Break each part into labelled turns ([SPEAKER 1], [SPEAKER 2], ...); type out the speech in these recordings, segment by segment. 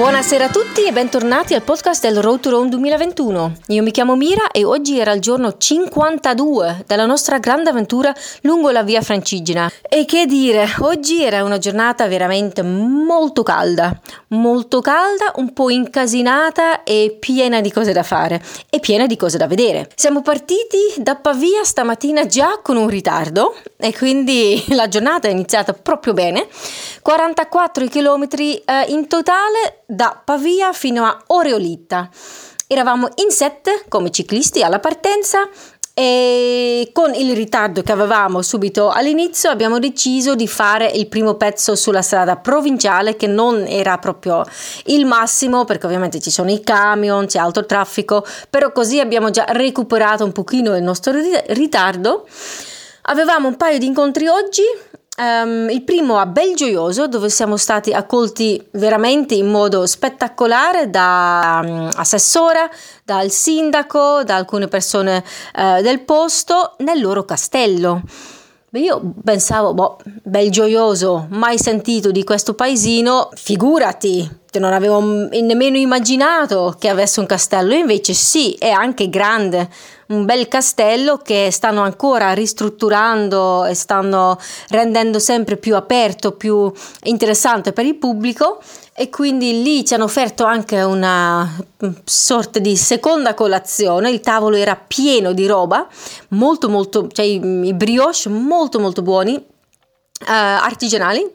[SPEAKER 1] Buonasera a tutti e bentornati al podcast del Road to Rome 2021. Io mi chiamo Mira e oggi era il giorno 52 della nostra grande avventura lungo la via Francigena. E che dire, oggi era una giornata veramente molto calda, un po' incasinata e piena di cose da fare e piena di cose da vedere. Siamo partiti da Pavia stamattina già con un ritardo e quindi la giornata è iniziata proprio bene. 44 chilometri in totale da Pavia fino a Oreolitta. Eravamo in 7 come ciclisti alla partenza e con il ritardo che avevamo subito all'inizio abbiamo deciso di fare il primo pezzo sulla strada provinciale, che non era proprio il massimo perché ovviamente ci sono i camion, c'è alto traffico, però così abbiamo già recuperato un pochino il nostro ritardo. Avevamo un paio di incontri oggi. Il primo a Belgioioso, dove siamo stati accolti veramente in modo spettacolare da assessora, dal sindaco, da alcune persone del posto nel loro castello. Io pensavo, Belgioioso, mai sentito di questo paesino, figurati, non avevo nemmeno immaginato che avesse un castello, invece sì, è anche grande, un bel castello che stanno ancora ristrutturando e stanno rendendo sempre più aperto, più interessante per il pubblico, e quindi lì ci hanno offerto anche una sorta di seconda colazione. Il tavolo era pieno di roba, cioè i brioche molto buoni, artigianali,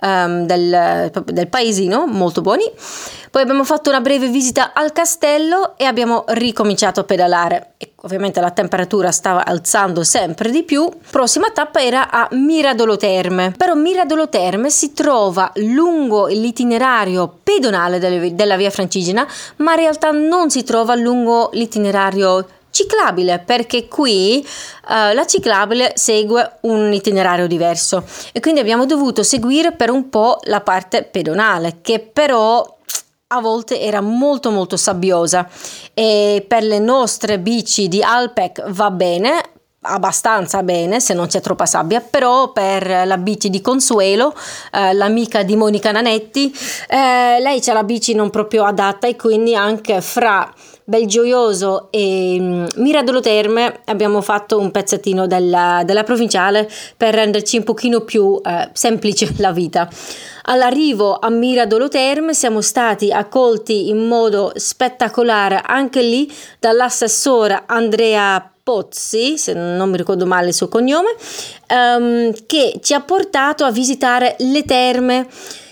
[SPEAKER 1] del paesino, molto buoni. Poi abbiamo fatto una breve visita al castello e abbiamo ricominciato a pedalare e ovviamente la temperatura stava alzando sempre di più. Prossima tappa era a Miradolo Terme, però Miradolo Terme si trova lungo l'itinerario pedonale della via Francigena, ma in realtà non si trova lungo l'itinerario ciclabile, perché qui la ciclabile segue un itinerario diverso e quindi abbiamo dovuto seguire per un po' la parte pedonale, che però a volte era molto sabbiosa, e per le nostre bici di Alpec va bene, abbastanza bene se non c'è troppa sabbia, però per la bici di Consuelo, l'amica di Monica Nanetti, lei c'ha la bici non proprio adatta, e quindi anche fra Belgioioso e Miradolo Terme abbiamo fatto un pezzettino della provinciale per renderci un pochino più semplice la vita. All'arrivo a Miradolo Terme siamo stati accolti in modo spettacolare anche lì dall'assessora Andrea Pozzi, se non mi ricordo male il suo cognome, che ci ha portato a visitare le terme.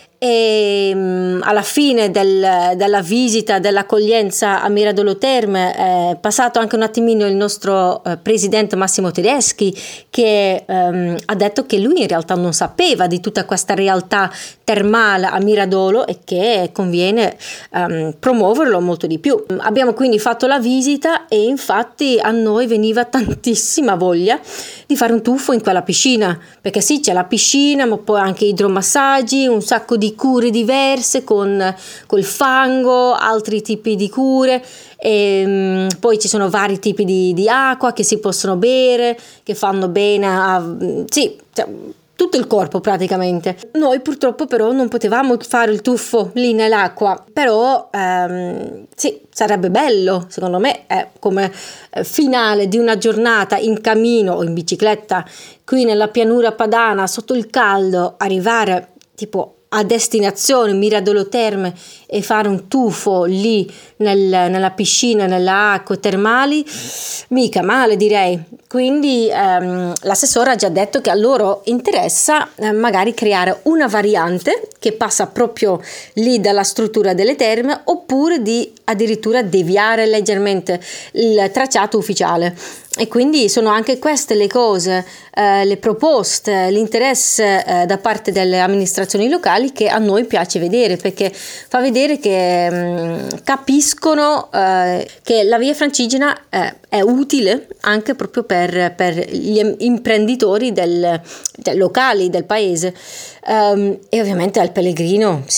[SPEAKER 1] E alla fine della visita, dell'accoglienza a Miradolo Terme, è passato anche un attimino il nostro presidente Massimo Tedeschi, che ha detto che lui in realtà non sapeva di tutta questa realtà termale a Miradolo e che conviene promuoverlo molto di più. Abbiamo quindi fatto la visita e infatti a noi veniva tantissima voglia di fare un tuffo in quella piscina, perché sì, c'è la piscina, ma poi anche idromassaggi, un sacco di cure diverse col fango, altri tipi di cure, e poi ci sono vari tipi di acqua che si possono bere, che fanno bene tutto il corpo praticamente. Noi purtroppo però non potevamo fare il tuffo lì nell'acqua, però sì, sarebbe bello, secondo me, come finale di una giornata in cammino o in bicicletta qui nella pianura padana sotto il caldo, arrivare tipo a destinazione Miradolo Terme e fare un tuffo lì nella piscina, nelle acque termali, mica male, direi. Quindi l'assessore ha già detto che a loro interessa magari creare una variante che passa proprio lì dalla struttura delle terme, oppure di addirittura deviare leggermente il tracciato ufficiale. E quindi sono anche queste le cose, le proposte, l'interesse da parte delle amministrazioni locali che a noi piace vedere, perché fa vedere che capiscono che la via Francigena è utile anche proprio per gli imprenditori locali del paese, e ovviamente al pellegrino, sì.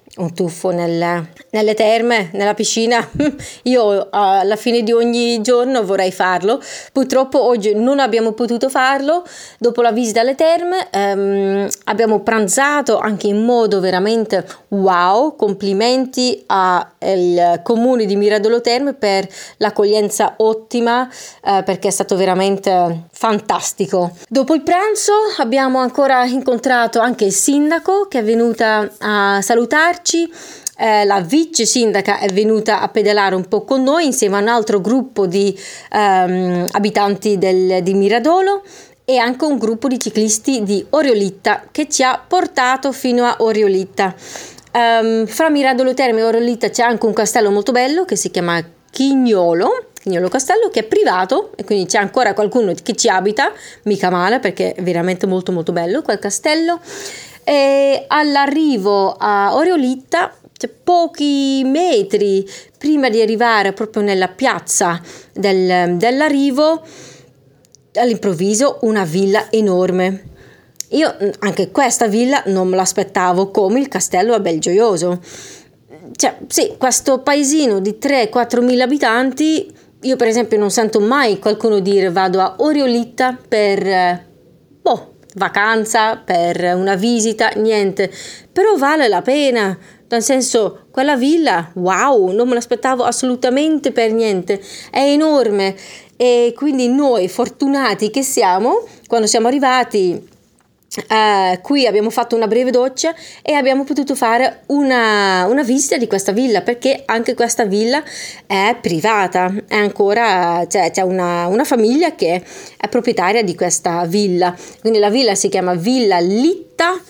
[SPEAKER 1] un tuffo nelle terme, nella piscina. Io alla fine di ogni giorno vorrei farlo. Purtroppo oggi non abbiamo potuto farlo. Dopo la visita alle terme abbiamo pranzato anche in modo veramente wow. Complimenti al comune di Miradolo Terme per l'accoglienza ottima, perché è stato veramente fantastico. Dopo il pranzo abbiamo ancora incontrato anche il sindaco, che è venuta a salutarci. La vice sindaca è venuta a pedalare un po' con noi insieme a un altro gruppo di abitanti di Miradolo, e anche un gruppo di ciclisti di Oriolitta che ci ha portato fino a Oriolitta. Fra Miradolo Terme e Oriolitta c'è anche un castello molto bello che si chiama Chignolo Castello, che è privato, e quindi c'è ancora qualcuno che ci abita, mica male, perché è veramente molto molto bello quel castello. E all'arrivo a Oriolitta, cioè pochi metri prima di arrivare proprio nella piazza dell'arrivo, all'improvviso una villa enorme. Io anche questa villa non me l'aspettavo, come il castello a Belgioioso. Cioè, sì, questo paesino di 3-4 mila abitanti, io per esempio non sento mai qualcuno dire vado a Oriolitta per vacanza, per una visita, niente. Però vale la pena, nel senso, quella villa, wow, non me l'aspettavo assolutamente per niente, è enorme. E quindi noi fortunati che siamo, quando siamo arrivati qui abbiamo fatto una breve doccia e abbiamo potuto fare una visita di questa villa, perché anche questa villa è privata, è ancora, c'è una famiglia che è proprietaria di questa villa. Quindi la villa si chiama Villa Litta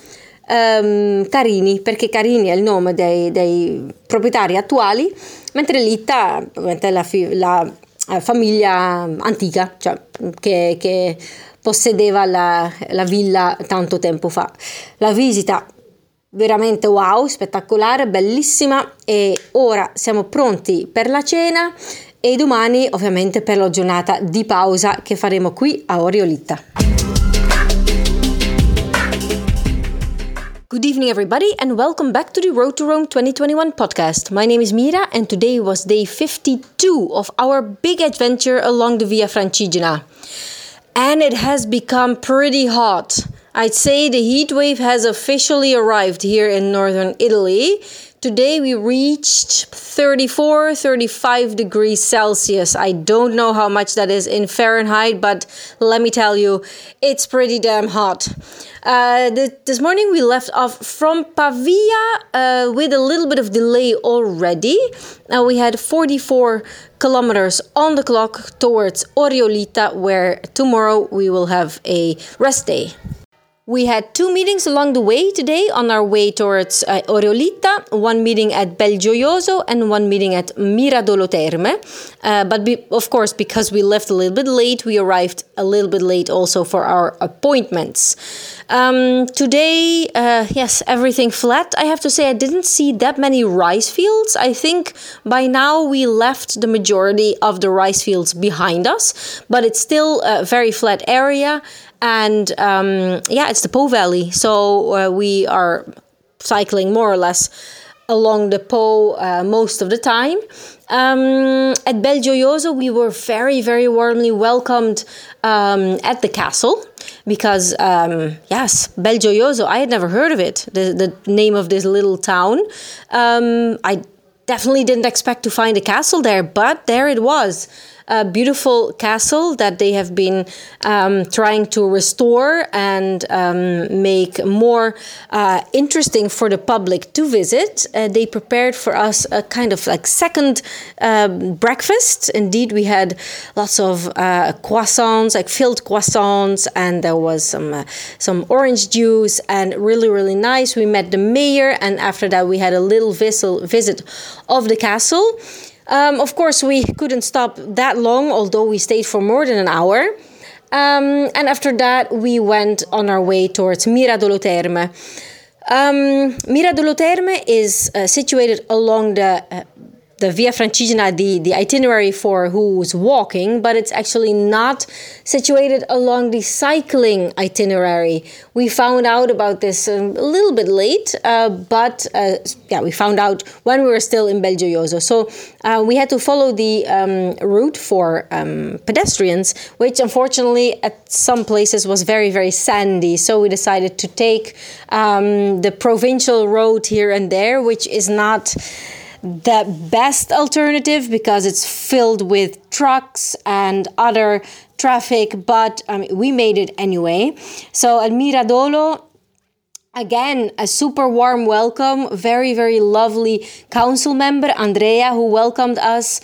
[SPEAKER 1] Carini, perché Carini è il nome dei proprietari attuali, mentre Litta è la famiglia antica, cioè che possedeva la villa tanto tempo fa. La visita veramente wow, spettacolare, bellissima, e ora siamo pronti per la cena e domani ovviamente per la giornata di pausa che faremo qui a Oriolitta. Good evening, everybody, and welcome back to the Road to Rome 2021 podcast. My name is Mira, and today was day 52 of our big adventure along the Via Francigena. And it has become pretty hot. I'd say the heat wave has officially arrived here in northern Italy. Today we reached 35 degrees Celsius. I don't know how much that is in Fahrenheit, but let me tell you, it's pretty damn hot. This morning we left off from Pavia with a little bit of delay already. We had 44 kilometers on the clock towards Oriolitta, where tomorrow we will have a rest day. We had 2 meetings along the way today on our way towards Oriolitta, one meeting at Belgioioso and one meeting at Miradolo Terme. Of course, because we left a little bit late, we arrived a little bit late also for our appointments. Today, yes, everything flat. I have to say I didn't see that many rice fields. I think by now we left the majority of the rice fields behind us, but it's still a very flat area. And it's the Po Valley, so we are cycling more or less along the Po most of the time. At Belgioioso, we were very, very warmly welcomed at the castle, because Belgioioso, I had never heard of it, the name of this little town. I definitely didn't expect to find a castle there, but there it was. A beautiful castle that they have been trying to restore and make more interesting for the public to visit. They prepared for us a kind of like second breakfast. Indeed, we had lots of croissants, like filled croissants, and there was some orange juice, and really, really nice. We met the mayor, and after that we had a little visit of the castle. Of course, we couldn't stop that long, although we stayed for more than an hour. And after that, we went on our way towards Miradolo Terme. Miradolo Terme is situated along the the Via Francigena, the itinerary for who's walking, but it's actually not situated along the cycling itinerary. We found out about this a little bit late, but we found out when we were still in Belgioioso. So we had to follow the route for pedestrians, which unfortunately at some places was very, very sandy. So we decided to take the provincial road here and there, which is not the best alternative because it's filled with trucks and other traffic, but we made it anyway. So at Miradolo, again, a super warm welcome, very, very lovely council member, Andrea, who welcomed us.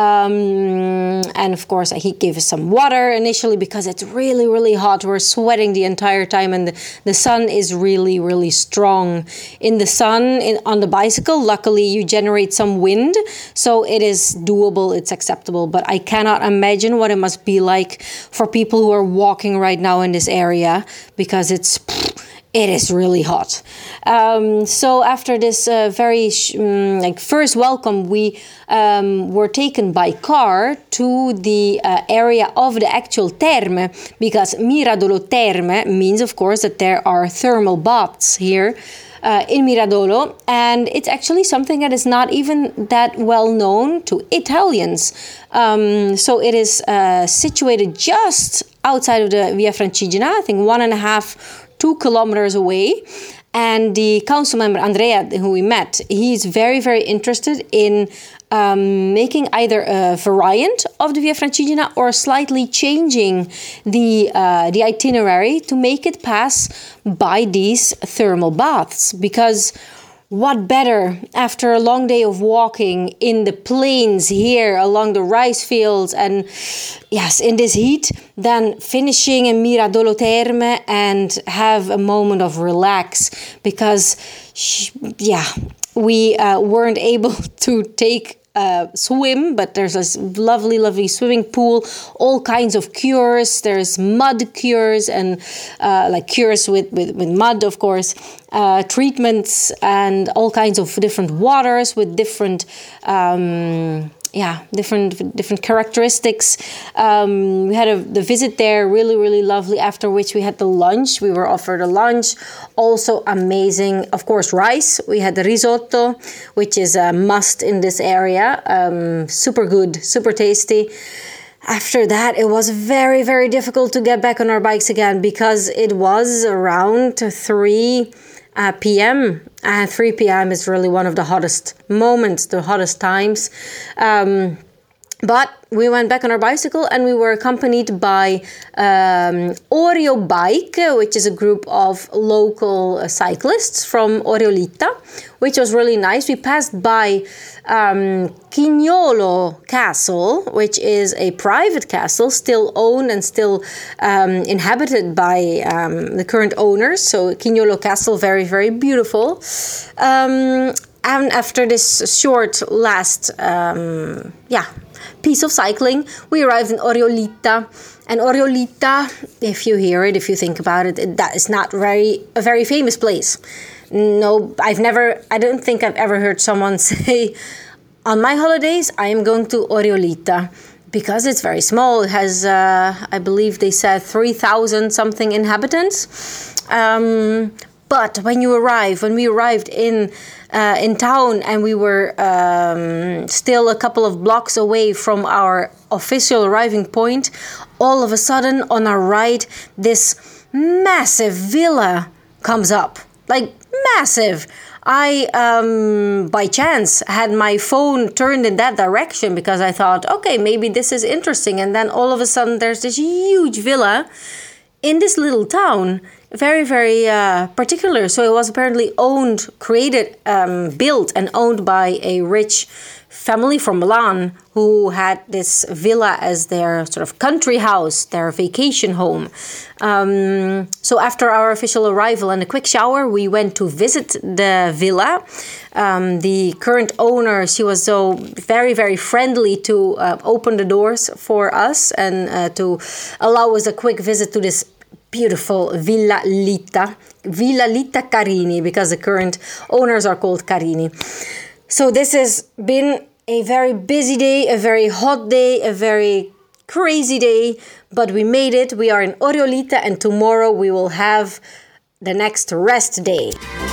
[SPEAKER 1] And of course, he gave us some water initially because it's really, really hot. We're sweating the entire time and the sun is really, really strong. In the sun, on the bicycle, luckily you generate some wind, so it is doable, it's acceptable. But I cannot imagine what it must be like for people who are walking right now in this area because it is really hot. So after this very first welcome, we were taken by car to the area of the actual terme, because Miradolo Terme means, of course, that there are thermal baths here in Miradolo, and it's actually something that is not even that well known to Italians. So it is situated just outside of the Via Francigena, I think 2 kilometers away. And the council member, Andrea, who we met, he's very, very interested in making either a variant of the Via Francigena or slightly changing the itinerary to make it pass by these thermal baths. Because what better after a long day of walking in the plains here along the rice fields and yes, in this heat, than finishing in Miradolo Terme and have a moment of relax, because we weren't able to take swim, but there's this lovely swimming pool, all kinds of cures. There's mud cures and cures with mud, of course, treatments and all kinds of different waters with different different characteristics. We had the visit there, really, really lovely, after which we had the lunch. We were offered a lunch, also amazing. Of course, rice. We had the risotto, which is a must in this area. Super good, super tasty. After that, it was very, very difficult to get back on our bikes again because it was around 3 p.m. And 3 p.m. is really one of the hottest moments, the hottest times. But we went back on our bicycle and we were accompanied by Oreo Bike, which is a group of local cyclists from Oriolita, which was really nice. We passed by Chignolo Castle, which is a private castle, still owned and still inhabited by the current owners. So Chignolo Castle, very, very beautiful. And after this short last piece of cycling, we arrived in Oriolita. And Oriolita, if you hear it, if you think about it, that is not a very famous place. No, I don't think I've ever heard someone say, on my holidays, I am going to Oriolita, because it's very small. It has, I believe they said 3,000 something inhabitants. But when we arrived in town and we were still a couple of blocks away from our official arriving point, all of a sudden on our right, this massive villa comes up. Like, massive. I, by chance, had my phone turned in that direction because I thought, okay, maybe this is interesting. And then all of a sudden there's this huge villa in this little town. Very, very particular. So it was apparently built and owned by a rich family from Milan who had this villa as their sort of country house, their vacation home. So after our official arrival and a quick shower, we went to visit the villa. The current owner, she was so very, very friendly to open the doors for us and to allow us a quick visit to this beautiful Villa Litta Carini, because the current owners are called Carini. So this has been A very busy day, a very hot day, a very crazy day, but we made it. We are in Oriolita and tomorrow we will have the next rest day.